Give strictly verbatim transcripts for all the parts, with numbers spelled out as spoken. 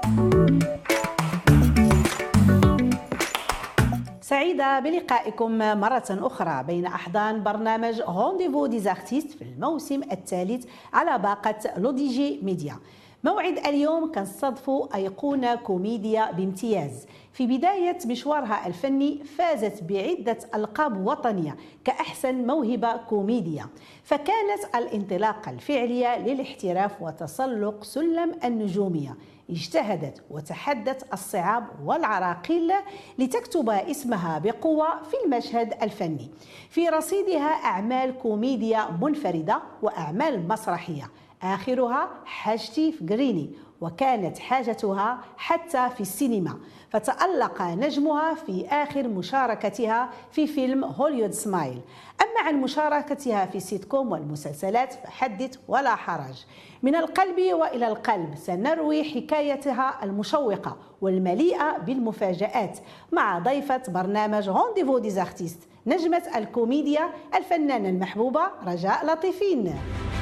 سعيدة بلقائكم مرة أخرى بين أحضان برنامج رونديفو دي زارتيست في الموسم الثالث على باقة لوديجي ميديا. موعد اليوم كنصادفوا أيقونة كوميديا بامتياز. في بداية مشوارها الفني فازت بعدة ألقاب وطنية كأحسن موهبة كوميديا، فكانت الانطلاقة الفعلية للاحتراف وتسلق سلم النجومية. اجتهدت وتحدت الصعاب والعراقيل لتكتب اسمها بقوة في المشهد الفني. في رصيدها أعمال كوميديا منفردة وأعمال مسرحية، آخرها حاجتي في جريني، وكانت حاجتها حتى في السينما، فتألق نجمها في آخر مشاركتها في فيلم هوليوود سمايل. أما عن مشاركتها في سيت كوم والمسلسلات فحدث ولا حرج. من القلب وإلى القلب سنروي حكايتها المشوقة والمليئة بالمفاجآت مع ضيفة برنامج رونديفو دي زارتيست، نجمة الكوميديا الفنانة المحبوبة رجاء لطيفين.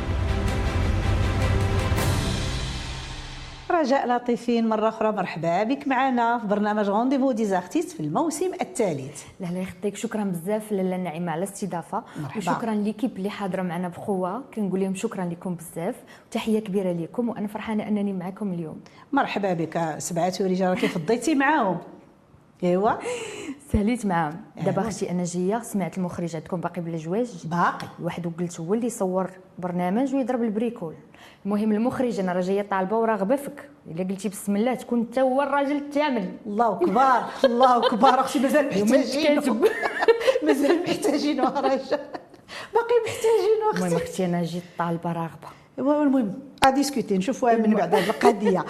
رجاء لطيفين مرة أخرى مرحبا بك معنا في برنامج رونديفو دي زارتيست في الموسم الثالث. لا لا يخطيك، شكرا بزاف لاله نعيمه على الاستضافه، وشكرا ليكيب اللي حاضره معنا بقوه، كنقول لهم شكرا لكم بزاف وتحيه كبيره لكم، وانا فرحانه انني معكم اليوم. مرحبا بك. سبعه رجال كيف فضيتي معاهم؟ ايوا ساليت معاهم. دابا اختي انا جايه سمعت المخرج عندكم باقي بلا جواج باقي واحد، وقلت هو اللي يصور برنامج ويضرب البريكول. المهم المخرج انا راه جايه طالبه وراغبه فيك، الا قلتي بسم الله تكون انت هو الراجل الثامن. الله اكبر الله اكبر اختي، مازال محتاجين مازال محتاجين رجاء، باقي محتاجين اختي. المهم اختي انا جيت طالبه راغبه. المهم اديسكوتي نشوفوها من بعد هذه القضيه.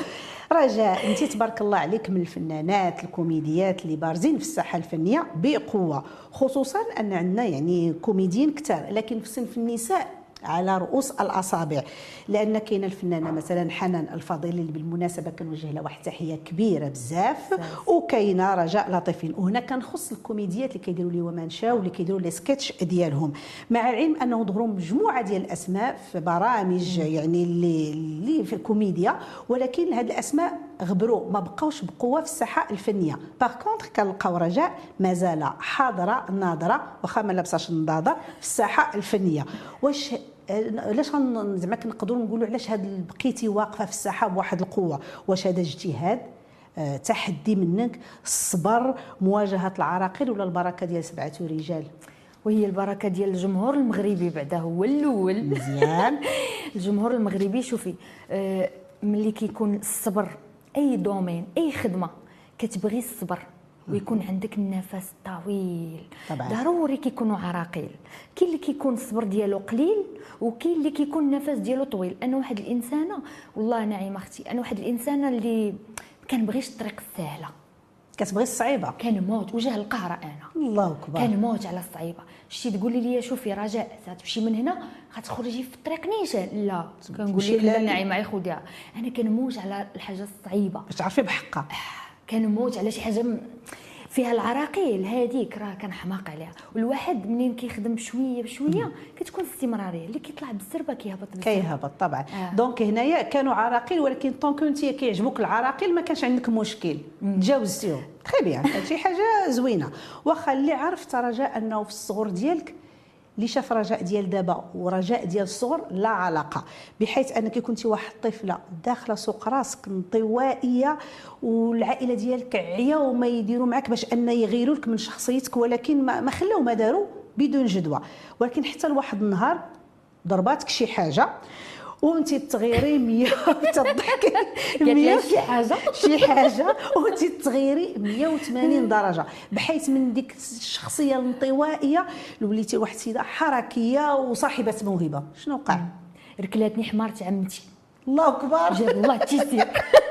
رجاء انت تبارك الله عليك من الفنانات الكوميديات اللي بارزين في الساحه الفنيه بقوه، خصوصا ان عندنا يعني كوميديين كثار، لكن في صنف النساء على رؤوس الاصابع، لان كاينه الفنانه مثلا حنان الفضيلي اللي بالمناسبه كنوجه لها واحد التحيه كبيره بزاف، وكاينه رجاء لطيفين. وهنا كنخص الكوميديات اللي كيديروا لي وما نشاو واللي كيديروا لي سكتش ديالهم، مع العلم انه ظهروا مجموعه ديال الاسماء في برامج يعني اللي اللي في الكوميديا، ولكن هاد الاسماء غبروا ما بقاوش بقوه في الساحه الفنيه. باغ كونطخ كنلقاو رجاء مازال حاضره ناظره واخا ما لابساش النضاده في الساحه الفنيه. واش علاش زعما كنقدروا نقولوا علاش هاد بقيتي واقفه في الساحه بواحد القوه؟ واش هذا اجتهاد، أه، تحدي منك، الصبر، مواجهه العراقيل، ولا البركه ديال سبعه رجال؟ وهي البركه ديال الجمهور المغربي بعدا هو الاول. مزيان. الجمهور المغربي شوفي، أه ملي كيكون الصبر، اي دومين اي خدمه كتبغي الصبر ويكون عندك النفس طويل، طبعا ضروري كيكونوا عراقيل. كاين اللي كيكون الصبر ديالو قليل، وكاين اللي كيكون النفس ديالو طويل. انا واحد الانسانه والله نعيمه اختي، انا واحد الانسانه اللي ما كنبغيش الطريق السهله، كتبغي الصعيبه. كنموت وجه القهر انا، الله اكبر، كنموت على الصعيبه. شتي تقولي لي شوفي رجاء تمشي من هنا غتخرجي في الطريق نيشان، لا كنقول لك لا نعيمه يا خديها، انا كنموت على الحاجه الصعيبه باش تعرفي بحقها. كنموت على شي حاجه فيها العراقيل، هذيك راه كنحماق عليها. والواحد منين كيخدم بشويه بشويه كتكون استمراريه، اللي كيطلع بالزربه كيهبط بالزربه كيهبط طبعا. آه. دونك هنايا كانوا عراقيل، ولكن طونك انت كيعجبوك العراقيل ما كانش عندك مشكل، تجاوزتيهم تري بيان، هادشي حاجه زوينه. واخا اللي عرفت رجاء انه في الصغر ديالك، اللي شاف رجاء ديال دابا ورجاء ديال الصغر لا علاقه، بحيث انك كنتي واحد الطفله داخله سوق راسك انطوائيه، والعائله ديالك عياو وما يديروا معك باش ان يغيروا لك من شخصيتك، ولكن ما, ما خلاو ما داروا بدون جدوى. ولكن حتى لواحد النهار ضرباتك شي حاجه وانت تغيري مية تضحكي مية شي حاجه شي حاجه وانت تغيري مية وثمانين درجه، بحيث من ديك الشخصيه الانطوائيه وليتي واحد السيده حركيه وصاحبه موهبه. شنو وقع؟ ركلاتني حمارة عمتي. الله اكبر، جاب الله التيسير.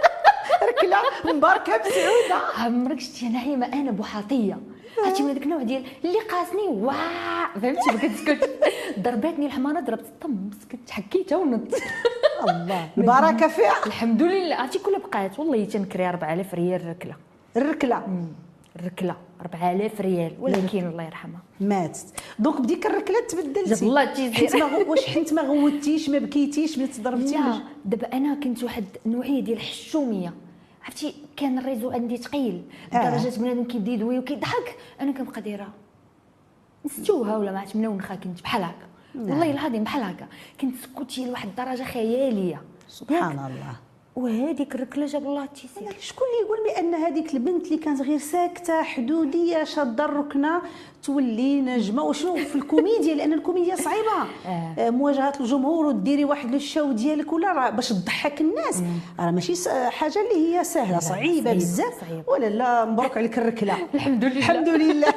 ركله مباركه بسعوده. عمرك شتي نعيمه انا بوحاطيه، هاتي من هذاك النوع ديال اللي قاسني واه فهمتي، بقيت سكت ضرباتني الحماره، ضربت الطم سكت حكيتها ونط. الله البركه فيها الحمد لله. عرفتي كلها بقات والله تنكري أربعة آلاف ريال الركله. الركله الركله أربعة آلاف ريال، ولكن الله يرحمها ماتت. دونك بديك الركله تبدلتي. جاب الله التيسير. واش حنت ما غوتيش ما بكيتيش ملي تضربتي؟ لا دابا انا كنت واحد النوعيه ديال الحشوميه، عرفتي كان الريزو عندي ثقيل لدرجه آه. بنادم كيبدا يدوي وكيضحك انا كنبقى دايره نستوها ولا ما عرفتش منونخه كنت بحال هكا والله العظيم بحال هكا كنت سكوتي لواحد الدرجه خياليه سبحان الله. وهذيك الركله جاب الله التيسير. شكون اللي يقول بان هذيك البنت اللي كانت غير ساكته حدوديه شاده الركنه تولي نجمه؟ وشنو في الكوميديا، لان الكوميديا صعيبه آه. مواجهه الجمهور وديري واحد الشو ديالك ولا راه باش تضحك الناس راه ماشي حاجه اللي هي سهله، صعيبه بزاف. ولا لا مبروك عليك الركله. الحمد لله الحمد لله.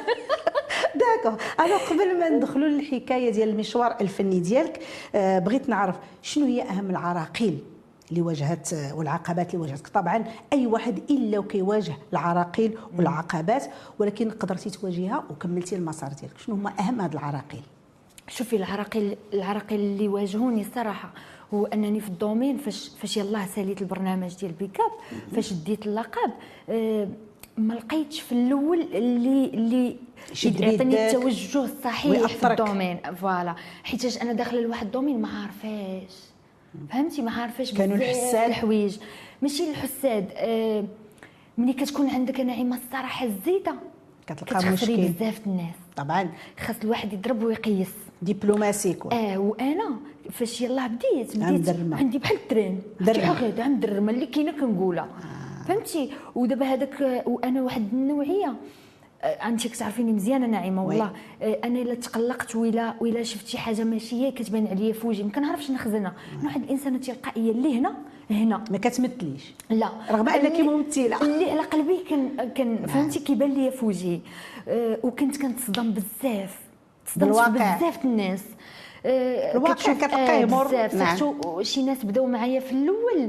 داكو انا قبل ما ندخلوا للحكايه ديال المشوار الفني ديالك آه بغيت نعرف شنو هي اهم العراقيل اللي واجهت والعقبات اللي واجهتك. طبعا اي واحد الا وكيواجه العراقيل والعقبات، ولكن قدرتي تواجهها وكملتي المسار ديالك. شنو هما اهم هاد العراقيل؟ شوفي العراقيل العراقيل اللي واجهوني الصراحه هو انني في الدومين فاش فاش يلاه ساليت البرنامج ديال بيكاب، فاش ديت اللقب أه ما لقيتش في الاول اللي اللي يعطيني التوجه الصحيح في الدومين فوالا، حيتاش انا داخله لواحد الدومين ما عارفاش فهمتي ما عارفاش كانوا الحساد الحوايج ماشي الحساد أه ملي كتكون عندك نعيمه الصراحه الزيته كتلقى مشكل بزاف الناس. طبعا خاص الواحد يضرب ويقيس دبلوماسي كون. اه وانا فاش يلاه بديت بديت درمة. عندي بحال الترين غادا مدرمه اللي كاينه كنقولها آه. فهمتي. ودابا هذاك وانا واحد النوعيه انت كتعرفيني مزيانه نعيمه والله وي. انا الا تقلقت ولا ولا شفت شي حاجه ماشيه كتبان عليا في وجهي ما كنعرفش نخزنها. انا واحد الانسانه تلقائيه اللي هنا هنا ما كتمثليش لا رغم انك ممثله اللي على قلبي كان كان فهمتي كيبان ليا في وجهي. أه وكنت كنتصدم بزاف تصدمت بزاف الناس. أه الواقع كتلقاه بزاف نعم. شي ناس بداو معايا في الاول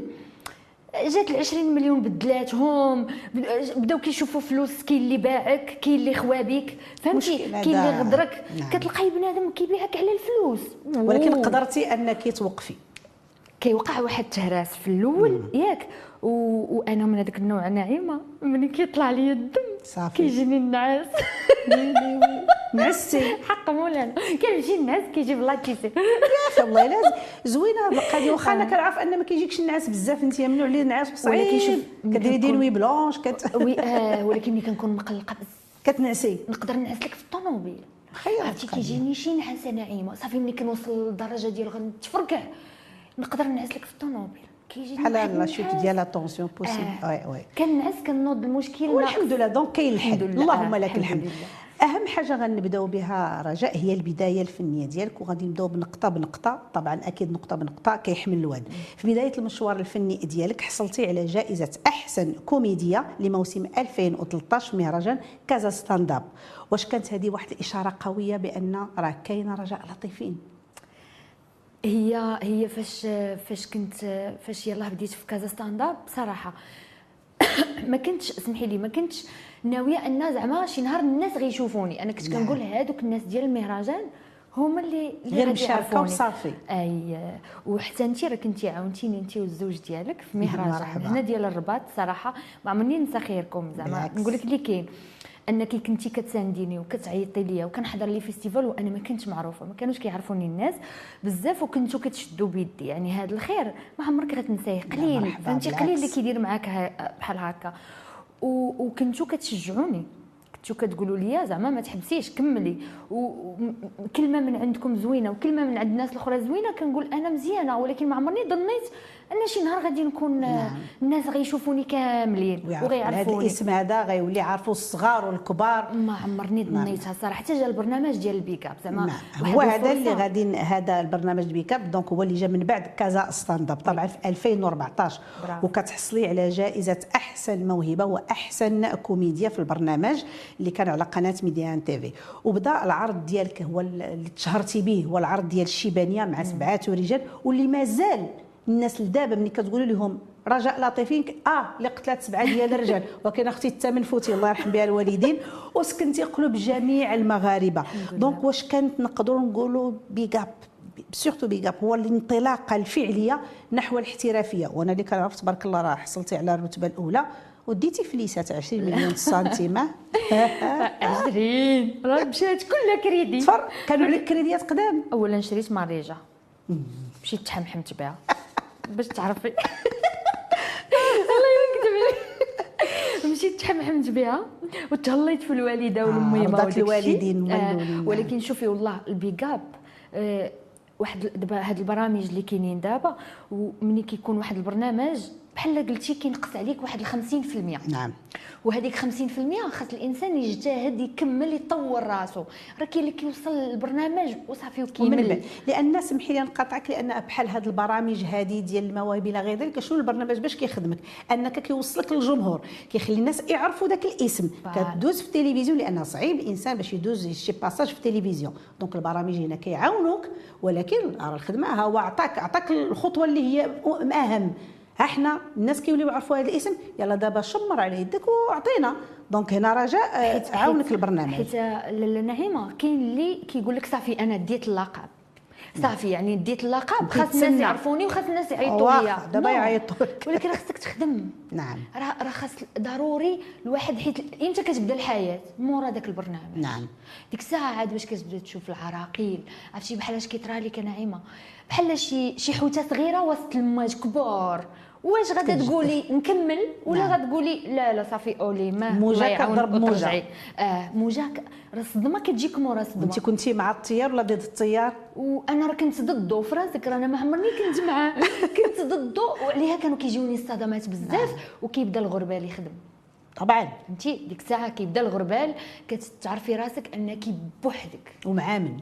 جات العشرين مليون بدلاتهم بداو كيشوفوا فلوس، كاين اللي باعك كاين اللي خوابيك فهمتي كاين اللي غدرك نعم. كتلقاي بنادم كيبيعك على الفلوس ولكن قدرتي انك توقفي. كيوقع واحد التهراس في الاول ياك و... وانا من هذاك النوع نعيمه ملي كيطلع لي الدم صافي كيجيني النعاس نعستي حق مولانا كنمشي النعاس كيجيب الله تيسير يا اخي والله لازم زوينه هاد القضيه. واخا انا كنعرف ان ما كيجيكش النعاس بزاف انت ممنوع ليه النعاس صعيب كديري دي نوي بلونش كت وي آه ولكن ملي كنكون مقلقه بزاف كتنعسي نقدر نعس لك في الطوموبيل عرفتي كيجيني شي نعاس نعيمه صافي ملي كنوصل للدرجه ديال غنتفركع نقدر نعس لك في الطوموبيل كيجي بحال لا شوت ديال لا طونسيون بوسيبل وي وي كنعس كنوض المشكل والحمد لله دونك كاين الحل اللهم لك الحمد. اهم حاجه غنبداو بها رجاء هي البدايه الفنيه ديالك وغادي نبداو بنقطه بنقطه. طبعا اكيد نقطه بنقطه كيحمل الواد. في بدايه المشوار الفني ديالك حصلتي على جائزه احسن كوميديا لموسم ألفين وثلاثطاش في مهرجان كازا ستاند اب. واش كانت هذه واحد الاشاره قويه بان راه كاينه رجاء لطيفين؟ هي هي فاش فاش كنت فاش يلاه بديت في كازا ستاند اب بصراحه ما كنتش اسمحي لي ما كنتش ناويه ان زعما شي نهار الناس غيشوفوني. انا كنت كنقول هادوك الناس ديال المهرجان هما اللي غير مشاركه وصافي. اي وحتى انت راه كنتي عاونتيني انت والزوج ديالك في مهرجان هنا ديال الرباط صراحه ما عمرني ننسى خيركم زعما نقول لك اللي كاين انك كنتي كتسانديني وكتعيطي ليا وكنحضر لي فيستيفال وانا ما كنتش معروفه ما كانوش كيعرفوني الناس بزاف وكنتو كتشدوا بيدي. يعني هذا الخير ما عمرك غتنسيه قليل فهمتي قليل اللي كيدير معاك بحال هكا وكنتو كتشجعوني كنتو كتقولوا لي زعما ما تحبسيش كملي وكلمه من عندكم زوينه وكلمه من عند الناس الاخرى زوينه كنقول انا مزيانه ولكن ما عمرني ظنيت ان شي نهار غادي نكون نعم. الناس غيشوفوني كاملين وغيعرفوني. هذا الاسم هذا غيولي يعرفوا الصغار والكبار. ما عمرني ظنيتها صراحه حتى جا البرنامج ديال البيكاب زعما هو هذا اللي غادي هذا البرنامج البيكاب دونك هو اللي جا من بعد كازا ستاند اب طبعا في ألفين وأربعطاش وكتحصلي على جائزه احسن موهبه واحسن كوميديا في البرنامج اللي كان على قناه ميديان تيفي. وبدا العرض ديالك هو اللي تشهرتي به هو العرض ديال الشيبانيه مع سبعه رجال واللي مازال الناس لدابا ملي كتقولوا لهم رجاء لطيفين اه اللي قتلات سبعه ديال الرجال ولكن اختي الثامن فوتي الله يرحم بها الوالدين وسكنتي قلوب جميع المغاربه. دونك واش كانت نقدروا نقولوا بيغاب سورتو بيغاب هو الانطلاقه الفعليه نحو الاحترافيه؟ وانا اللي كنعرف تبارك الله راه حصلتي على الرتبه الاولى وديتي فليسات عشرين مليون سنتيم عشرين راه مشات كلها كريدي كانوا عليك كريديات قدام. اولا شريت ماريجه مشيت تحمحمت بها باش تعرفي الله يكتب لي امنت بها وتهليت في الوالده والميمه رضات الوالدين آه ولكن شوفي والله البيكاب آه واحد دابا هاد البرامج اللي كاينين دابا ومني كيكون واحد البرنامج بحال قلتي كينقص عليك واحد خمسين في المية. نعم. وهذيك خمسين في المية خاص الانسان يجتهد يكمل يطور راسو، راه كاين اللي كيوصل للبرنامج وصافي وكيمل. لان الناس سمحي لي نقاطعك، لان بحال هاد البرامج هذه ديال المواهب الى غير ذلك، شنو البرنامج باش كيخدمك؟ انك كيوصلك للجمهور، كيخلي الناس يعرفوا داك الاسم، كدوز في التلفزيون لان صعيب الانسان باش يدوز شي باساج في التلفزيون. دونك البرامج هنا كيعاونوك، ولكن راه الخدمه ها هو عطاك عطاك الخطوه اللي هي اهم. ها حنا الناس كيوليو يعرفوا هذا الاسم، يلا دابا شمر على يدك واعطينا. دونك هنا رجاء عاونك البرنامج. حيت نعيمه كاين اللي كيقول لك صافي انا ديت اللقب، صافي يعني ديت اللقب خاص الناس يعرفوني وخاص الناس يعيطوا ليا دابا يعيطوا لك، ولكن راه خصك تخدم. نعم. راه راه خاص ضروري الواحد، حيت امتى كتبدا الحياه؟ مورا داك البرنامج. نعم. ديك الساعه عاد باش كتبدا تشوف العراقيل، عرفتي بحال اش كيطرى لك نعيمه، بحال شي شي حوته صغيره وسط الماج كبار. واش غادا تقولي نكمل ولا نعم. غتقولي لا لا صافي اولي ما موجه كضرب موجه. اه موجه راه الصدمه كتجيك مورا صدمه. انت كنتي مع التيار ولا ضد التيار؟ وانا راه كنت ضده في راسك، راه انا ما عمرني كنت معاه كنت ضده، وعليها كانوا كيجيوني الصدمات بزاف. نعم. وكيبدا الغربال يخدم طبعا، فهمتي ديك الساعه كيبدا الغربال كتعرفي راسك انك بوحدك ومعامن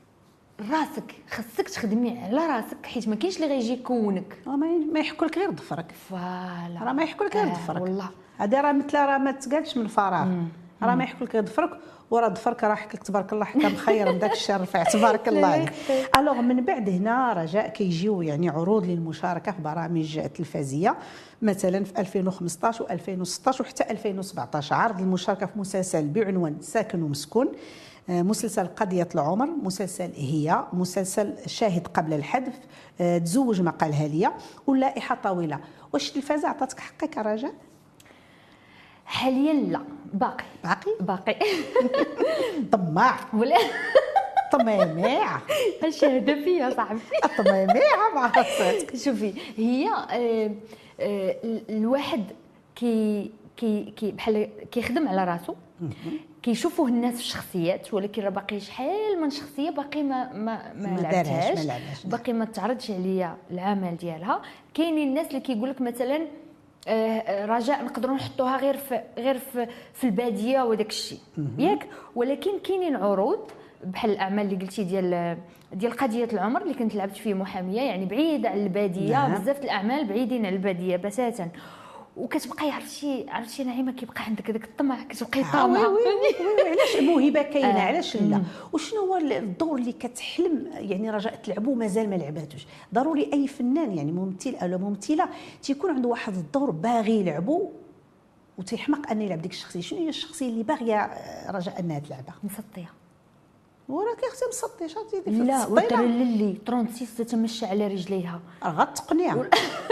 راسك، خاصك تخدمي على راسك، حيت ما كاينش اللي غيجي يكونك. ما يحكوا لك غير ظفرك، فوالا راه ما يحكوا لك غير ظفرك. آه والله هذا راه مثل راه ما تقالش من فراغ، راه ما يحكوا لك غير ظفرك، وراه ظفرك راه حكى لك تبارك الله حكى مخير من داك الشر رفع تبارك الله. الوغ من بعد هنا رجاء كيجيو يعني عروض للمشاركه في برامج تلفزيه، مثلا في ألفين وخمسطاش وألفين وستطاش وحتى ألفين وسبعطاش عرض المشاركه في مسلسل بعنوان ساكن ومسكون، مسلسل قضية العمر، مسلسل هي، مسلسل شاهد قبل الحذف، تزوج ما قالها ليا، واللائحة طويلة. واش التلفازة عطاتك حقك رجاء؟ حاليا لا، باقي باقي باقي طماع ولا طميميع اش هذا فيا صاحبي طميميع مع راسك. شوفي هي آه آه الواحد كي كي كي بحال كيخدم على راسو، كيشوفوه الناس في الشخصيات، ولكن راه باقي شحال من شخصيه باقي ما ما ما, ما لعبتهاش، باقي ما تعرضش عليا العمل ديالها. كاينين الناس اللي كيقول لك مثلا آه رجاء نقدروا نحطوها غير في غير في, في الباديه وداك الشيء ياك، ولكن كاينين عروض بحال الاعمال اللي قلتي ديال ديال قضيه العمر اللي كنت لعبت فيه محاميه، يعني بعيده على الباديه. نعم. بزاف الاعمال بعيدين على الباديه بتاتا، وكتبقاي عرفتي عرفتي نعيمه كيبقى عندك هذاك الطمع، كتبقاي طامعه. وي وي وي علاش الموهبه كاينه؟ آه. علاش لا؟ وشنو هو الدور اللي كتحلم يعني رجاء تلعبو مازال ما لعباتوش؟ ضروري اي فنان يعني ممثل او ممثله تيكون عنده واحد الدور باغي يلعبو وتيحمق ان يلعب ديك الشخصيه. شنو هي الشخصيه اللي باغيه رجاء انها تلعبها؟ مسطيه. وراه كيختي مسطي شاتي دير لا وتر للي ستة وثلاثين تتمشى على رجليها غتقنع.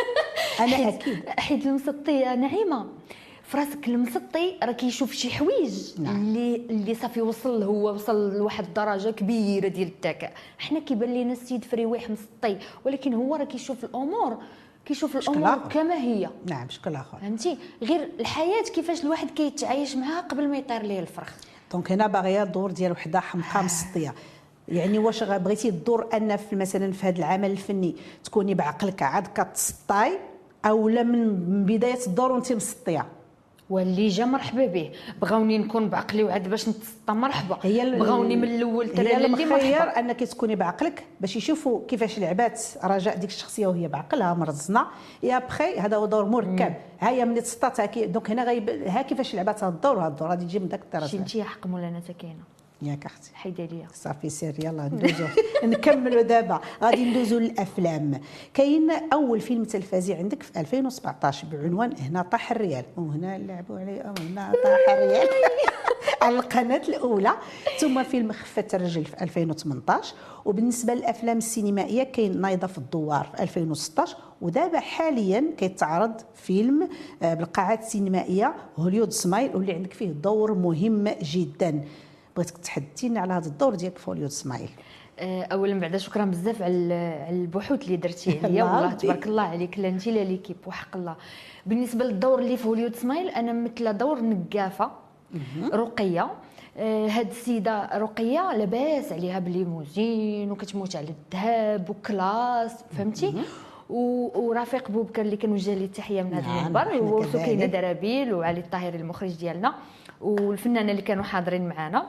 انا اكيد حيت المسطي نعيمه في راسك، المسطي راه كيشوف شي حوايج. نعم. اللي اللي صافي وصل هو وصل لواحد الدرجه كبيره ديال الذكاء. حنا كيبان لينا السيد فريويح مسطي، ولكن هو راه كيشوف الامور كيشوف الامور كما هي. نعم بشكل اخر، فهمتي؟ غير الحياه كيفاش الواحد كيتعايش معها قبل ما يطير ليه الفرخ. دونك هنا باغيه الدور ديال وحده حمقى مسطيه. يعني واش بغيتي الدور ان في مثلا في هذا العمل الفني تكوني بعقلك عاد كتسطاي، اولا من بدايه الدور وانت مسطيه؟ واللي جا مرحبا به. بغاوني نكون بعقلي وعاد باش نتسطى مرحبا، بغاوني من الاول ترى اللي مرحبا انك تكوني بعقلك باش يشوفوا كيفاش لعبات رجاء ديك الشخصيه وهي بعقلها مرزنه. يا بخي هذا هو دور مركب. ها هي ملي تسطات دونك هنا غيب ها كيفاش لعبات هذا الدور، هذا الدور غادي تجي من داك الطرف. شي حق مولانا كاينه ياك اختي حيدي ليا صافي سير يلاه ندوزو نكملوا دابا. غادي ندوزو للافلام. كاين اول فيلم تلفزي عندك في ألفين وسبعطاش بعنوان هنا طاح الريال، وهنا لعبوا عليه وهنا طاح الريال على القناه الاولى، ثم فيلم خفة الرجل في ألفين وثمنطاش. وبالنسبه للافلام السينمائيه كاين نايضه في الدوار في ألفين وستطاش، ودابا حاليا كيتعرض فيلم بالقاعات السينمائيه هوليود سمايل، واللي عندك فيه دور مهم جدا. بغيتك تحدثينا على هذا الدور ديالك في هوليود سمايل. اولا بعدا شكرا بزاف على البحوث اللي درتي عليا والله تبارك الله عليك، لا انت لا ليكيب وحق الله. بالنسبه للدور اللي في هوليود سمايل انا مثل دور نقافه رقيه. هاد السيده رقيه لاباس عليها بالليموزين وكتموت على الذهب وكلاس فهمتي. ورفيق بوبكر اللي كنوجه ليه التحيه من هذا المنبر، هو سكينه درابيل وعلي الطاهري المخرج ديالنا والفنانه اللي كانوا حاضرين معنا.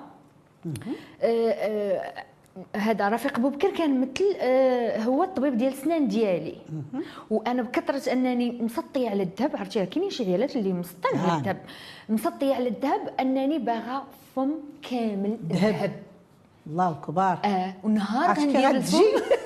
هذا رفيق بوبكر كان مثل هو الطبيب ديال السنان ديالي، وانا بكثره انني مسطيه على الذهب. عرفتي كاينين شي عيالات اللي مسطين على الذهب، مسطيه على الذهب انني باغا فم كامل ذهب. الله كبار. اه ونهار كندير الفم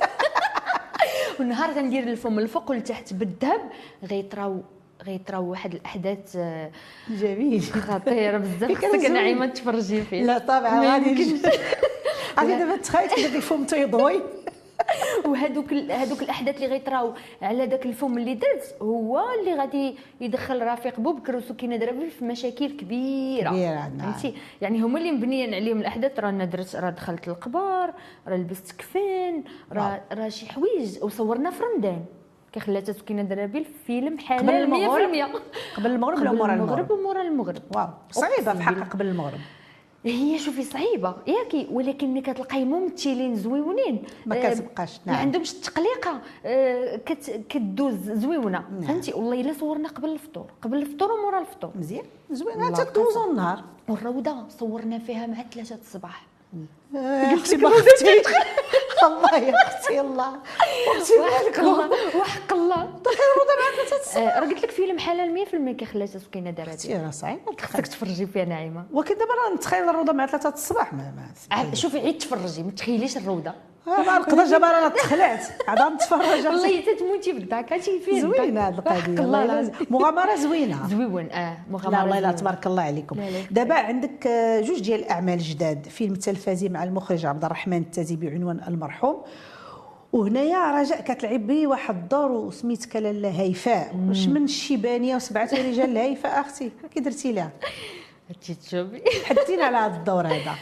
ونهار كندير الفم الفوق والتحت بالذهب غيطراو غيطراو واحد الاحداث جميل خطيره بزاف. خصك نعيمه تفرجي فيه. لا طبعا غادي عاد دابا تخيل كداك الفم تيضوي وهذوك هذوك الاحداث اللي غيطراو على داك الفم اللي درت هو اللي غادي يدخل رفيق بوبكر وسكينه درابيل في مشاكل كبيره كبيره. فهمتي يعني هما اللي مبنيين عليهم الاحداث. راه انا درت راه دخلت القبر، راه لبست كفن، راه راه شي حوايج وصورنا في رمضان. كخلاتها سكينه درابيل فيلم حلال مية بالمية قبل المغرب ولا مورا المغرب ومورا المغرب. واو صعيبه في حق قبل المغرب. هي شوفي صعيبه ياكي، ولكن ملي كتلقاي ممثلين زويونين ما كتبقاش نعم. ما عندهمش التقليقه كت كدوز زويونه نعم. فهمتي. والله الا صورنا قبل الفطور قبل الفطور ومورا الفطور مزيان زوينه تدوزوا النهار. والروضه صورنا فيها مع ثلاثة الصباح. قلت لك اختي الله يا اختي الله وحق الله وحق الله دخل الروضه مع ثلاثة الصباح. راه قلت لك فيلم حلال مية بالمية كخلاتها سكينه درابيل. راه صعيب خصك تفرجي فيها نعيمه. ولكن دابا راه نتخيل الروضه مع ثلاثة الصباح ما, ما شوفي عيد تفرجي ما تخيليش الروضه. ما نقدرش دابا انا تخلعت عاد نتفرج. والله حتى تموتي بالضحك هادشي فين زوينه هاد القضيه والله مغامره زوينه زويون. اه مغامره. لا والله لا تبارك الله عليكم. دابا عندك جوج ديال الاعمال جداد، فيلم تلفزي مع المخرج عبد الرحمن التازي بعنوان المرحوم، وهنايا رجاء كتلعب بي واحد الدور وسميتك لاله هيفاء. واش من الشيبانيه وسبعه رجال الهيفاء اختي كي درتي لها؟ هادشي تشوفي حدينا على هذا الدور هذا.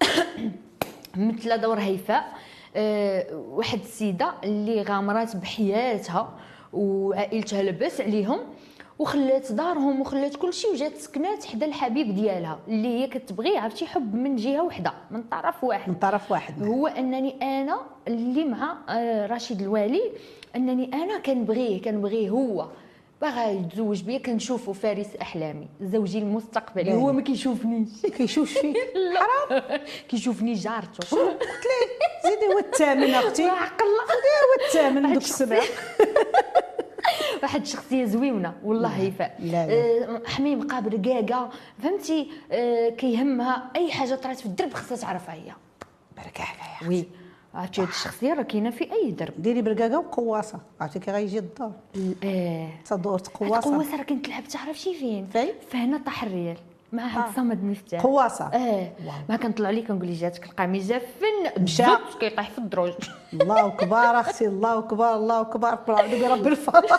مثل دور هيفاء أه واحد السيده اللي غامرات بحياتها وعائلتها لباس عليهم وخلات دارهم وخلات كل شيء وجات سكنات حدا الحبيب ديالها اللي هي كتبغيه. عرفتي حب من جهه وحده من طرف واحد من طرف واحد هو انني انا اللي مع رشيد الوالي انني انا كنبغيه كنبغيه هو باغا يتزوج بيا. كنشوفو فارس احلامي زوجي المستقبلي. هو ما كيشوفنيش كيشوف فيك حرام كيشوفني جارته. شنو قلت ليه زيدي هو الثامن اختي حق الله هو الثامن دوك السبع. واحد الشخصيه زويونه والله هيفاء. آه حميم قابل رقاقه فهمتي. آه كيهمها اي حاجه طرات في الدرب خصها تعرفها هي. برك عليها وي عرفتي هاد الشخصيه راه كاينه في اي درب. ديري برقاقه وقواصه عرفتي كي غيجي الدور. اه تدور قواصه. قواصه راه كنت لعبت تعرف شي فين فين فهنا طاح الريال مع هاد آه. صمد مفتاح قواصه. اه ما كنطلع لي كنقول لي جاتك القميص جافن مشى كيطيح في الدروج. الله اكبر اختي الله اكبر الله اكبر برب الفلق.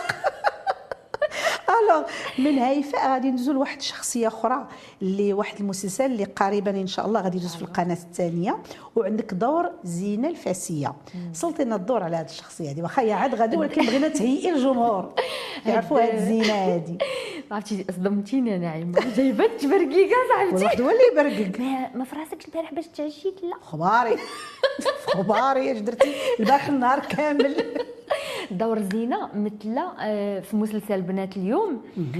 الوغ من هيفاء غادي ندوزو لواحد الشخصيه اخرى اللي واحد المسلسل اللي قريبا ان شاء الله غادي يدوز في القناه الثانيه، وعندك دور زينه الفاسيه. سلطي لنا الدور على هذه الشخصيه هذه واخا هي عاد غادي ولكن بغينا تهيئي الجمهور يعرفوا هذه الزينه هذه. عرفتي صدمتيني انا عيمه جايبه تبرقيقه صاحبتي. واحد هو اللي يبرقق ما في راسك البارح باش تعشيت لا خباري خباري اش درتي البارح النهار كامل. دور زينه مثل في مسلسل بنات اليوم.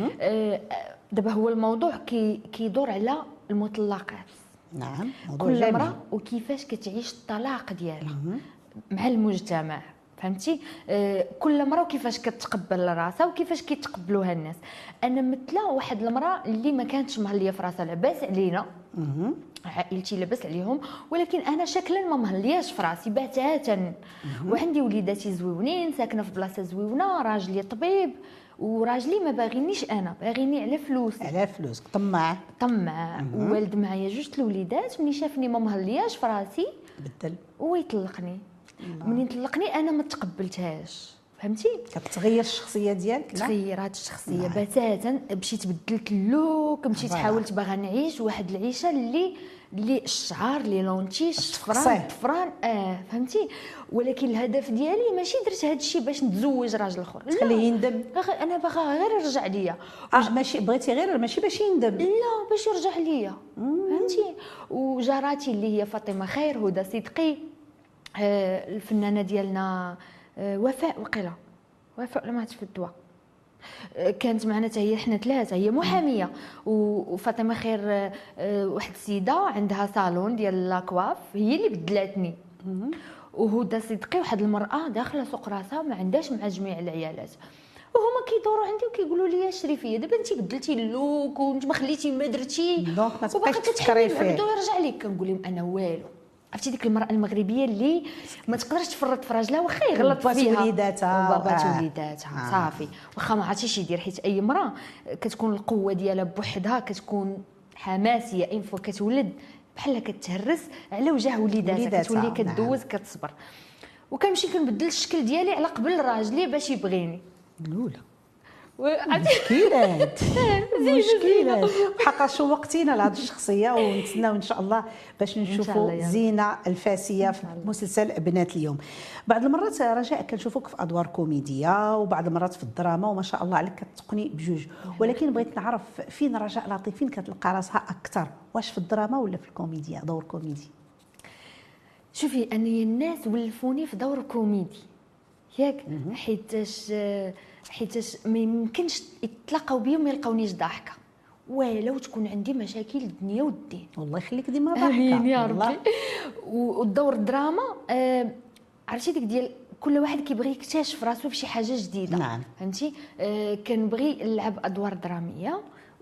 دابا هو الموضوع كي كيدور على المطلقات. نعم موضوع كل جميل. مرة وكيفاش كتعيش الطلاق ديالها مع المجتمع فهمتي. آه كل مرة وكيفاش كتقبل راسها وكيفاش كيتقبلوها الناس. انا مثله واحد المراه اللي ما كانتش مهليه في راسها لاباس علينا عائلتي لاباس عليهم ولكن انا شكلا ما مهلياش في راسي بتاتا. وعندي وليداتي زويونين ساكنه في بلاصه زويونه راجلي طبيب وراجلي ما باغينيش انا باغيني على فلوس على فلوس طماع طماع. ووالد معايا جوج الوليدات ملي شافني ما مهلياش في راسي بدل ويطلقني. منين طلقني انا ما تقبلتهاش فهمتي. كتغير الشخصيه ديالك. تغيرات الشخصيه بتاتا. مشيت بدلت اللوك مشيت حاولت باغا نعيش واحد العيشه اللي لي الشعر لي لونتيش الصفران الطفران اه فهمتي. ولكن الهدف ديالي ماشي درت هذا الشيء باش نتزوج راجل اخر، خليه يندم. انا باغا غير يرجع ليا. آه ماشي بغيتي غير ماشي باش يندم، لا باش يرجع ليا فهمتي. وجاراتي اللي هي فاطمه خير، هدى صدقي، آه الفنانه ديالنا آه وفاء وقيله وفاء لما في الدواء كانت معنا حتى هي، حنا ثلاثه، هي محاميه وفاطمه خير واحد السيده عندها صالون ديال لاكواف هي اللي بدلاتني، وهدى صدقي واحد المراه داخله سوق راسها ما عندهاش مع جميع العيالات، وهما كيدوروا عندي وكيقولوا لي شريفيه دابا انت بدلتي اللوك وانت ما خليتي ما درتي دونك ما تبقايش تفكري فيه بدو يرجع لك. كنقول لهم انا والو. عرفتي ديك المراه المغربيه اللي ما تقدرش تفرط في راجلها واخا يغلط فيها وليداتها وبابات آه. وليداتها آه. صافي واخا ما عرفتيش يدير، حيت اي امراه كتكون القوه ديالها بوحدها كتكون حماسيه اين فوا كتولد بحال كتهرس على وجه وليداتها كتولي كدوز نعم. كتصبر. وكنمشي كنبدل الشكل ديالي على قبل راجلي باش يبغيني الاولى مشكلات مشكلات بحق شوقتينا لهذه الشخصيه، ونتسناو ان شاء الله باش نشوفوا زينه الفاسيه في مسلسل بنات اليوم. بعض المرات رجاء كنشوفوك في ادوار كوميديه وبعض المرات في الدراما وما شاء الله عليك كتقني بجوج، ولكن بغيت نعرف فين رجاء لطيف فين كتلقى راسها اكثر، واش في الدراما ولا في الكوميديا دور كوميدي؟ شوفي انا الناس ولفوني في دور كوميدي ياك، حيتاش حيتاش ما يمكنش يتلاقاو بيا وما يلقاونيش ضاحكه، ولو تكون عندي مشاكل الدنيا والدين. والله يخليك ديما ضاحكه امين يا ربي. والدور الدراما آه عرفتي ديك ديال كل واحد كيبغي يكتشف راسو في شي حاجه جديده. نعم فهمتي. آه كنبغي نلعب ادوار دراميه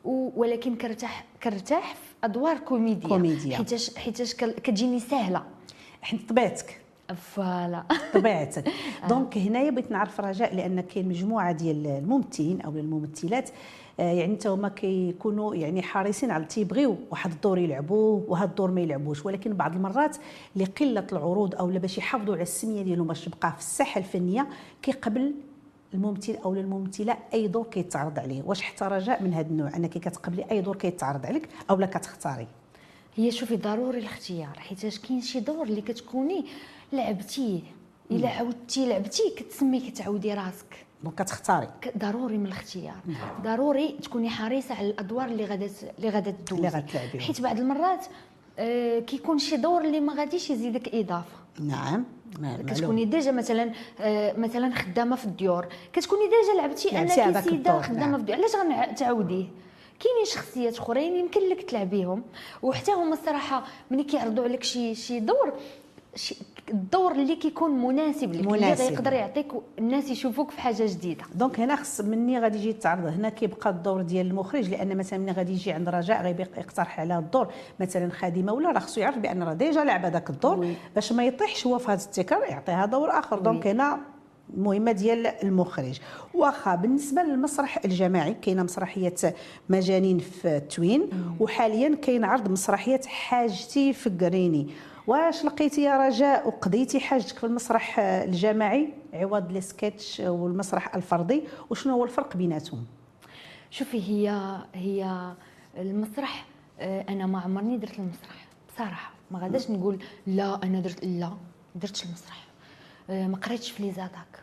ولكن كرتاح كرتاح في ادوار كوميديه كوميديا حيتاش حيتاش كتجيني سهله حيت طبيعتك فوالا طبيعتك. دونك هنايا بغيت نعرف رجاء، لان كاين مجموعه ديال الممثلين او الممثلات يعني حتى هما كيكونوا يعني حريصين على تيبغيو واحد الدور يلعبوه وهذا الدور ما يلعبوش، ولكن بعض المرات لقله العروض او باش يحافظوا على السميه ديالهم باش تبقى في الساحه الفنيه كيقبل الممثل او الممثله اي دور كيتعرض عليه. واش حتى رجاء من هذا النوع انك كتقبلي اي دور كيتعرض عليك او لا كتختاري؟ هي شوفي ضروري الاختيار، حيت كاين شي دور اللي كتكوني لعبتيه الا عاودتي لعبتي كتسمي كتعودي راسك، دونك كتختاري. ضروري من الاختيار، ضروري تكوني حريصه على الادوار اللي غادا اللي غادا تدوزي اللي غتلعبي، حيت بعض المرات آه كيكون شي دور اللي ما غاديش يزيدك اضافه. نعم كتكوني ديجا مثلا آه مثلا خدامه في الديور، كتكوني ديجا لعبتي انك سيده خدامه في الديور، علاش غنعاوديه؟ كاينين شخصيات اخرين يمكن لك تلعبيهم، وحتى هما الصراحه ملي كيعرضوا عليك شي شي دور شي الدور اللي كيكون مناسب لك اللي غيقدر يعطيك الناس يشوفوك في حاجه جديده. دونك هنا خص مني غادي يجي يتعرض هنا كيبقى الدور ديال المخرج، لان مثلا ملي غادي يجي عند رجاء غيبقى يقترح على الدور مثلا خادمه ولا راه خصو يعرف بان راه ديجا لعب هذاك الدور وي. باش ما يطيحش هو في هذا التكرار يعطيها دور اخر. دونك هنا المهمه ديال المخرج. واخا بالنسبه للمسرح الجماعي كاينه مسرحيه مجانين في توين وحاليا كاين عرض مسرحيه حاجتي فكريني، واش لقيتي يا رجاء وقضيتي حاجتك في المسرح الجماعي عوض لي سكيتش والمسرح الفردي، وشنو هو الفرق بيناتهم؟ شوفي هي هي المسرح انا ما عمرني درت المسرح بصراحه، ما غاداش نقول لا انا درت، لا درت المسرح، ما قريتش في لي زاتاك،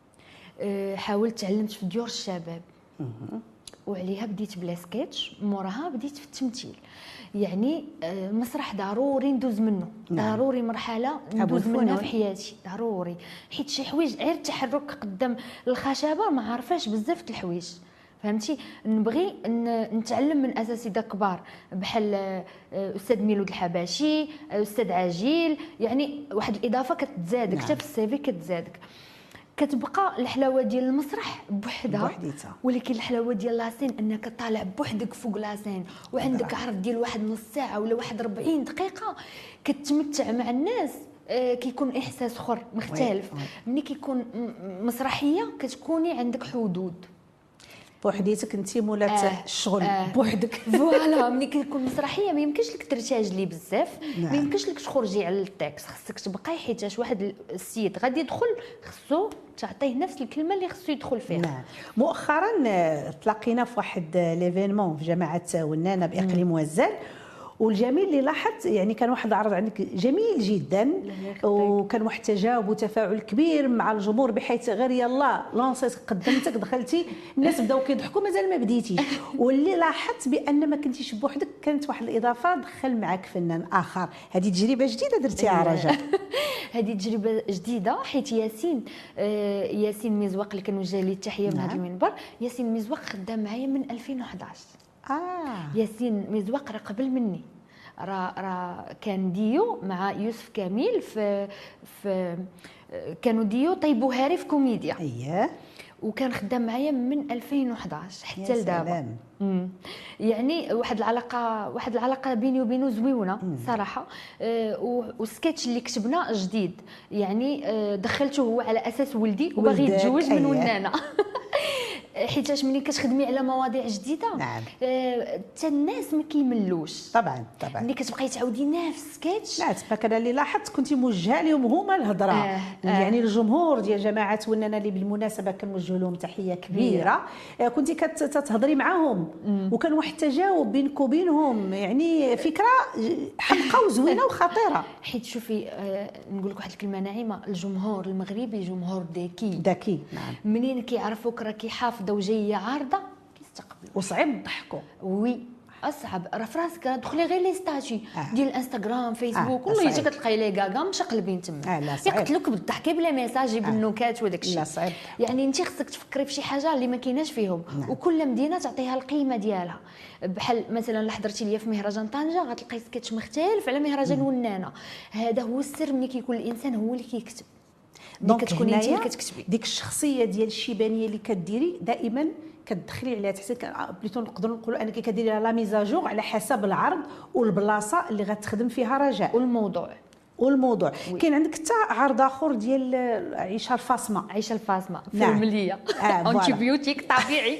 حاولت تعلمت في ديور الشباب وعليها بديت بلا سكيتش، موراها بديت في التمثيل. يعني المسرح ضروري ندوز منه، نعم. ضروري مرحله ندوز منها في حياتي ضروري، حيت شي حوايج غير التحرك قدام الخشبه ما عارفاش بزاف د الحوايج فهمتي. نبغي نتعلم من اساتذه كبار بحال استاذ ميلود الحباشي، استاذ عجيل، يعني واحد الاضافه كتزادك حتى نعم. في السيفي كتزادك. كتبقى الحلاوه ديال المسرح بوحدها بوحديتها، ولكن الحلاوه ديال لاسين انك طالع بوحدك فوق لاسين وعندك عرض ديال واحد نص ساعه ولا واحد أربعين دقيقه كتمتع مع الناس. آه كيكون احساس اخر مختلف. ملي كيكون مسرحيه كتكوني عندك حدود بوحديتك انت مولات آه الشغل آه بوحدك فوالا. ملي كتكون مسرحيه ما يمكنش لك ترتاجلي بزاف، ما يمكنش لك تخرجي على التكست، خصك تبقاي حيتاش واحد السيد غادي يدخل خصو تعطيه نفس الكلمه اللي خصو يدخل فيها. نعم. مؤخرا تلاقينا في واحد ليفينمون في جامعه ونانه باقليم وزال، والجميل اللي لاحظت يعني كان واحد العرض عندك جميل جدا، وكان واحد التجاوب وتفاعل كبير مع الجمهور، بحيث غير يلا لونسيت قدمتك دخلتي الناس بداو كيضحكوا مازال ما بديتيش. واللي لاحظت بان ما كنتيش بوحدك، كانت واحد الاضافه دخل معك فنان اخر. هذه تجربه جديده درتيها رجاء. هذه تجربه جديده، حيت ياسين آه ياسين مزواق اللي كنوجه ليه التحيه من هذا المنبر. ياسين مزواق خدام معايا من ألفين وأحد عشر. اه ياسين مزواق راه قبل مني، راه راه كان ديو مع يوسف كامل في في كانوا ديو طيب وهاري في كوميديا. اييه، وكان خدام معايا من ألفين وأحد عشر حتى لدابا. يعني واحد العلاقه واحد العلاقه بيني وبينه زويونه صراحه. آه والسكتش اللي كتبنا جديد، يعني آه دخلته هو على اساس ولدي وباغي يتزوج من ونانه. حيتاش ملي كتخدمي على مواضيع جديده نعم حتى آه الناس ما كيملوش. طبعا طبعا ملي كتبقاي تعاودي نفس السكتش. لا تما كان اللي لاحظت كنتي موجهه لهم هما الهضره. آه آه. يعني الجمهور ديال جماعه ونانا اللي بالمناسبه كنوجه لهم تحيه كبيره، آه كنتي كتهضري معاهم وكان واحد التجاوب بينك وبينهم، يعني فكره حمقى وزوينه وخطيره. حيت شوفي آه نقول لك واحد الكلمه ناعمه، الجمهور المغربي جمهور ذكي ذكي. نعم منين كيعرفوك راكي حافظه وجايه عارضه كيستقبلوا، وصعيب تضحكوا. وي اصعب راه في راسك، دخلي غير لي ستاتي آه. ديال الانستغرام فيسبوك آه. والله يجي كتلقاي لي كاكا مشقلبين تما. آه يقتلوك بالضحك بلا ميساج بالنكات وداك الشيء. لا صعيب. يعني انت خصك تفكري في شي حاجه اللي ما كايناش فيهم. نعم. وكل مدينه تعطيها القيمه ديالها. بحال مثلا اللي حضرتي ليا في مهرجان طنجه غتلقاي سكتش مختلف على مهرجان ونانه. هذا هو السر، ملي كيكون الانسان هو اللي كيكتب. دونك تكوني انت اللي كتكتبي ديك الشخصيه ديال الشيبانيه اللي كديري دائما كتدخلي عليها، تحسي بليتو نقدروا نقولوا انك كديري لا ميزاجور على حسب العرض والبلاصه اللي غتخدم فيها رجاء والموضوع والموضوع. كاين عندك حتى عرض اخر ديال عيشه الفاطمه. عيشه الفاطمه نعم. فيلميه آه انتيبيوتيك طبيعي.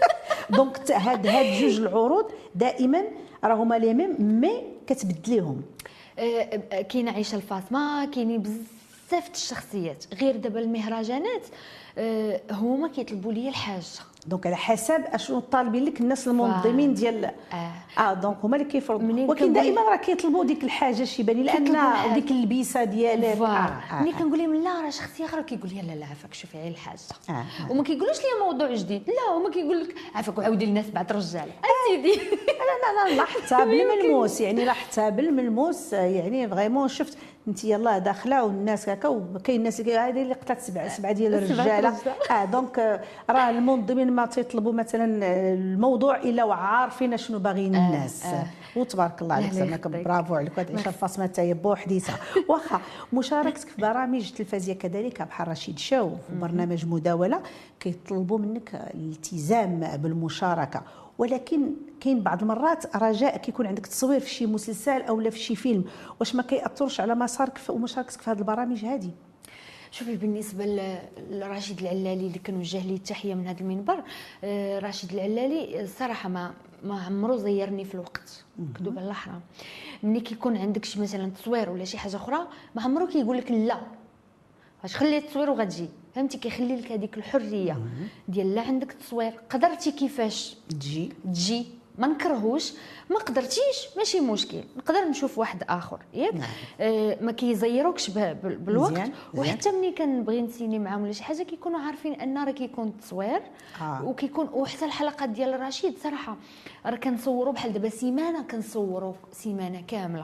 دونك هاد هاد جوج العروض دائما راهما لي ميم مي كتبدليهم. آه كاينه عيشه الفاطمه، كاينين بزاف الشخصيات. غير دابا المهرجانات آه هما كيطلبوا لي الحاجه، دونك على حسب اشنو طالبين لك الناس المنظمين ديال اه, آه دونك هما اللي كيفرضوا. ولكن دائما راه كيطلبوا ديك الحاجه الشيبانيه لان ديك اللبسه ديالك. ملي آه آه كنقول لهم لا راه شخصيه اخرى كيقول لي لا لا عافاك شوفي غير الحاجه. آه آه. وما كيقولوش لي موضوع جديد، لا هما كيقول لك عافاك وعاودي لنا سبعه رجاله اسيدي. لا لا لا لاحظتها بالملموس، يعني لاحظتها بالملموس. يعني فريمون شفت انت يلاه داخله والناس هكا، وكاين الناس اللي هذه اللي قتلت سبعه سبعه ديال الرجاله. اه دونك راه المنظمين ما تيطلبوا مثلا الموضوع الا وعارفين شنو باغيين الناس. آه آه. وتبارك الله عليك زعما برافو عليك. هذه عيشه الفاطمه حتى هي بوحديتها. واخا مشاركتك في برامج تلفزيونيه كذلك بحال رشيد شو في برنامج مداوله كيطلبوا منك الالتزام بالمشاركه، ولكن كاين بعض المرات رجاء كيكون عندك تصوير في شي مسلسل او لا في شي فيلم، واش ما كيأثرش على مسارك ومشاركتك في هذه البرامج هذه؟ شوفي بالنسبه لرشيد العلالي اللي كنوجه ليه التحيه من هذا المنبر، رشيد العلالي الصراحه ما ما عمرو زيرني في الوقت، كذوب على الحرام. ملي كيكون عندك شي مثلا تصوير ولا شي حاجه اخرى ما عمرو كيقول لك لا واش خلي التصوير وغتجي، فهمتي؟ كيخلي لك هذيك الحريه ديال لا عندك تصوير قدرتي كيفاش تجي تجي، ما نكرهوش. ما قدرتيش ماشي مشكل، نقدر نشوف واحد اخر ياك. نعم. آه ما كيزيروكش بالوقت. زيان. وحتى ملي كنبغي نسيني معاهم ولا شي حاجه كيكونوا عارفين ان راه كيكون التصوير. آه. وكيكون وحتى الحلقات ديال رشيد صراحه راه كنصوروا بحال دابا سيمانه كنصوروا سيمانه كامله.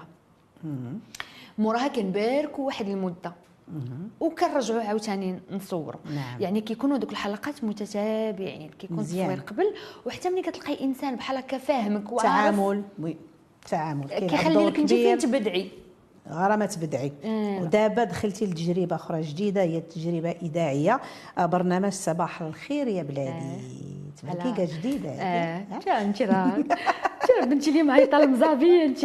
موراها كنباركوا واحد المده وكنرجعوا عاوتاني نصوروا. نعم. يعني كيكونوا دوك الحلقات متتابعين، كيكون التصوير قبل، وحتى ملي كتلقاي انسان بحال هكا فاهمك وعارف تعامل. وي تعامل كيخلي لك انت فين تبدعي غير ما تبدعي. آه. ودابا دخلتي لتجربه اخرى جديده هي التجربه اذاعيه، برنامج صباح الخير يا بلادي. آه. تبقى جديده. اه تا انت راه بنتي لي معيطه المزابيه انت.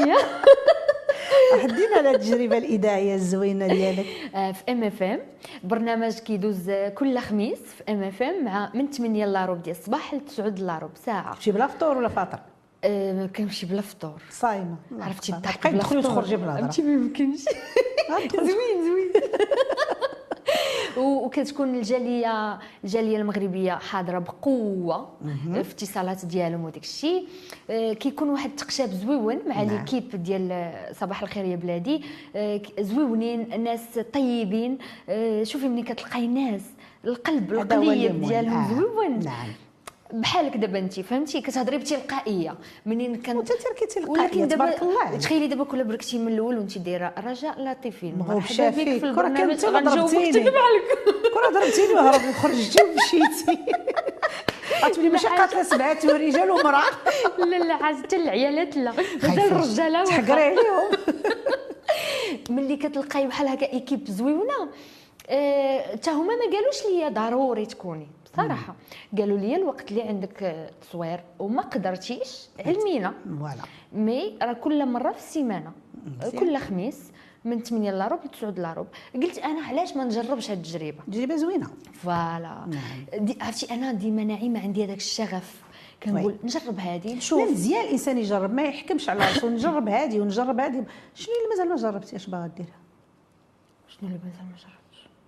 حدينا على التجربه الاذاعيه الزوينه ديالك. آه في ام اف ام، برنامج كيدوز كل خميس في ام اف ام مع من ثمانية الا ربع ديال الصباح ل تسعة الا ربع ساعه. تمشي بلا فطور ولا فاطر؟ آه ما كنمشي بلا فطور، صايمه. عرفتي الضحك بلا فطور تخرجي بلا هضره، فهمتي؟ ما يمكنش. زوين زوين. وكتكون الجاليه الجاليه المغربيه حاضره بقوه في اتصالات ديالهم وداك الشيء. كيكون واحد التقشاب زويون مع ليكيب ديال صباح الخير يا بلادي، زويونين، ناس طيبين. شوفي ملي كتلقاي ناس القلب القليب ديالهم زويون. نعم. بحالك دابا انت فهمتي كتهضري بتلقائيه منين كان وانت تركي تلقائيه تبارك الله. تخيلي دابا كل بركتي من الاول وانت دايره رجاء لطيفين مرحبا بك في البرنامج غنجاوبك تكذب عليك كره ضربتيني وهرب وخرجتي ومشيتي غتولي ماشي قاتله سبعه ورجال ومراه. لا لا حتى العيالات لا مازال الرجاله تحقري عليهم. ملي كتلقاي بحال هكا ايكيب زويونه حتى هما ما قالوش ليا ضروري تكوني بصراحه، قالوا لي الوقت اللي عندك تصوير وما قدرتيش علمينا فوالا مي راه كل مره في السيمانه كل خميس من ثمانية لاروب ل تسعة لاروب. قلت انا علاش ما نجربش هذه التجربه، تجربه زوينه فوالا. عرفتي انا ديما نعيمه عندي هذاك الشغف كنقول نجرب هذه نشوف. مزيان الانسان يجرب ما يحكمش على راسو، نجرب هذه ونجرب هذه. شنو اللي مازال ما جربتيش باغا ديرها؟ شنو اللي مازال ما جربتش؟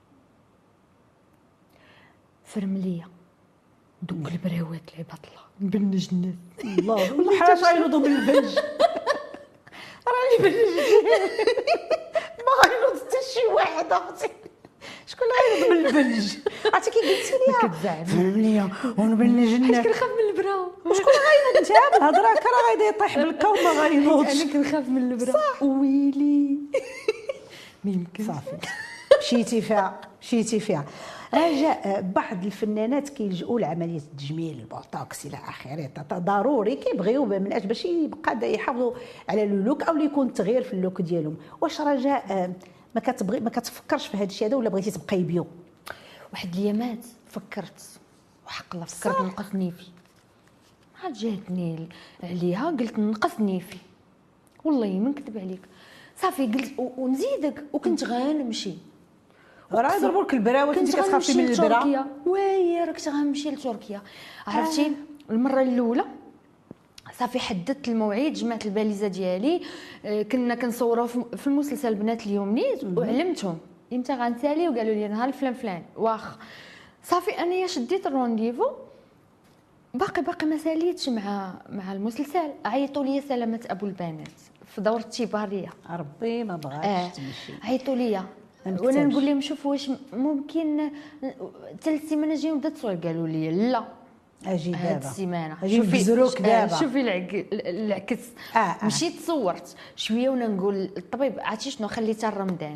فرمليه دوك البراوات العباد الله نبنج الناس. الله والله حاجه غينوضوا من البنج. راني بنج ما غينوض حتى شي واحد اختي. شكون اللي غينوض من البنج؟ عرفتي كي قلتي لي كتزعم فرمليه ونبنج الناس. حيت كنخاف من البرا. وشكون غينوض انت بالهضره كرا غايدا يطيح بالكا وما غينوضش. انا كنخاف من البرا. ويلي ما يمكن. صافي مشيتي فيها مشيتي فيها. رجاء بعض الفنانات كيلجؤوا لعمليه التجميل البوتوكس الى اخره، ضروري كيبغيو من اجل باش يبقى يحافظوا على اللوك او يكون تغيير في اللوك ديالهم. واش رجاء ما كتبغي ما كتفكرش في هذا الشيء هذا ولا بغيتي تبقاي بيو؟ واحد الايامات فكرت وحق الله فكرت نقص نيفي، عاد جاتني عليها قلت نقص نيفي والله ما نكذب عليك. صافي قلت ونزيدك وكنت غنمشي راه يضربوا لك البراوات انت كتخافي من البرا. وي راك غنمشي لتركيا. عرفتي آه. المره الاولى صافي حددت الموعد، جمعت الباليزه ديالي، كنا كنصوروا في المسلسل بنات اليومنيت وعلمتهم امتى غنسالي وقالوا لي نهار فلان فلان واخ. صافي انايا شديت الرونديفو باقي باقي ما ساليتش مع مع المسلسل. عيطوا لي سلامه ابو البنات في دوره التباريه ربي ما بغاش آه. تمشي. عيطوا لي وانا نقول لهم شوف واش ممكن ثلاث سيمانات جايين نبدا التصوير. قالوا لي لا اجي دابا هاد السيمانه شوفي بزروك دابا شوفي العكس. آه آه. مشيت صورت شويه وانا نقول الطبيب عرفتي شنو خليتها رمضان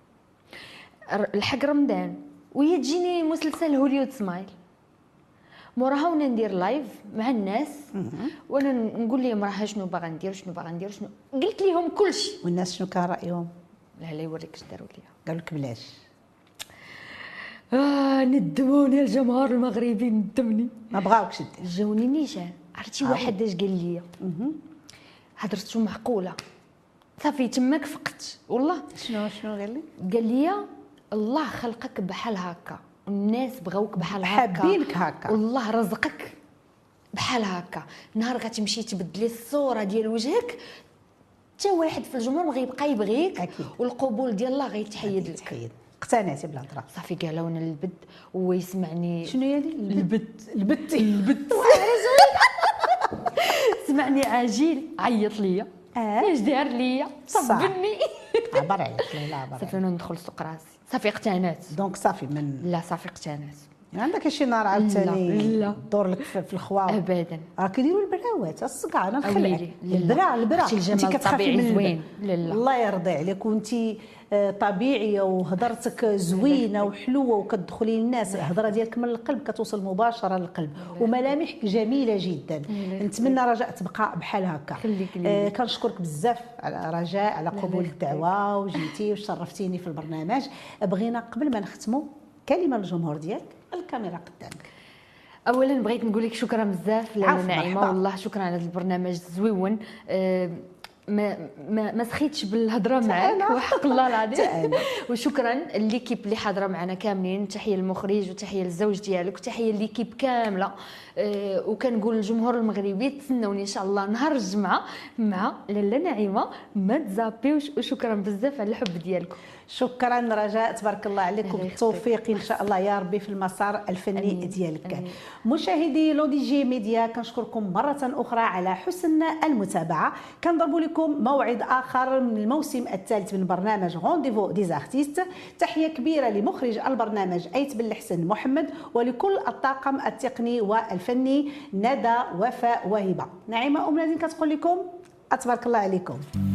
الحق رمضان وهي تجيني مسلسل هوليود سمايل موراها وانا ندير لايف مع الناس وانا نقول لهم راه شنو باغا ندير شنو باغا ندير شنو قلت لهم كلشي. والناس شنو كان رايهم؟ لا لا يوريك اش داروا ليا. قالوا لك بلاش. اه ندموني الجمهور المغربي ندمني ما بغاوكش دير. جاوني نيشان. عرفتي واحد اش قال لي هضرتو معقوله صافي تماك فقت والله. شنو شنو قال لي؟ قال لي الله خلقك بحال هكا والناس بغاوك بحال هكا حابينك هكا والله رزقك بحال هكا. نهار غتمشي تبدلي الصوره ديال وجهك حتى واحد في الجمهور ما غيبقى يبغيك أكيد. والقبول ديال الله غيتحيد لك. تحيد. اقتنعتي بالهضره صافي قالوا انا البد هو يسمعني. شنو هي هذه البد البت البد سمعني عاجل عيط ليا اش دار ليا صبني عبر عليك. لا عبر صافي انا ندخل سوق راسي صافي اقتنعت. دونك صافي من لا صافي اقتنعت. عندك شي نهار عاوتاني دور لك في الخوا ابدا راه كيديروا البراوات الصقع انا نخلعك البرا البرا البرا انت كتخافي من زوين. لا لا الله يرضي عليك وانت طبيعيه وهضرتك زوينه وحلوه وكتدخلي للناس. الهضره ديالك من القلب كتوصل مباشره للقلب وملامحك جميله جدا. نتمنى رجاء تبقى بحال هكا. آه كنشكرك بزاف على رجاء على قبول الدعوه وجيتي وشرفتيني في البرنامج. بغينا قبل ما نختموا كلمه للجمهور ديالك الكاميرا قدامك. اولا بغيت نقول لك شكرا بزاف لاله نعيمه والله شكرا على هذا البرنامج الزويون. أه ما ما ما سخيتش بالهضره معاك وحق الله العظيم. وشكرا ليكيب اللي حاضره معنا كاملين. تحيه للمخرج وتحيه للزوج ديالك وتحيه ليكيب كامله. أه وكنقول للجمهور المغربي تسناوني ان شاء الله نهار الجمعه مع لاله نعيمه ما تزابيوش. وشكرا بزاف على الحب ديالكم. شكرا رجاء، تبارك الله عليك وبالتوفيق ان شاء الله يا ربي في المسار الفني أمين. ديالك. أمين. مشاهدي لو دي جي ميديا كنشكركم مره اخرى على حسن المتابعه. كنضرب لكم موعد اخر من الموسم الثالث من برنامج رونديفو دي زارتيست. تحيه كبيره لمخرج البرنامج ايت بن الحسن محمد ولكل الطاقم التقني والفني ندى وفاء وهبه. نعيمه ام نادين كتقول لكم تبارك الله عليكم.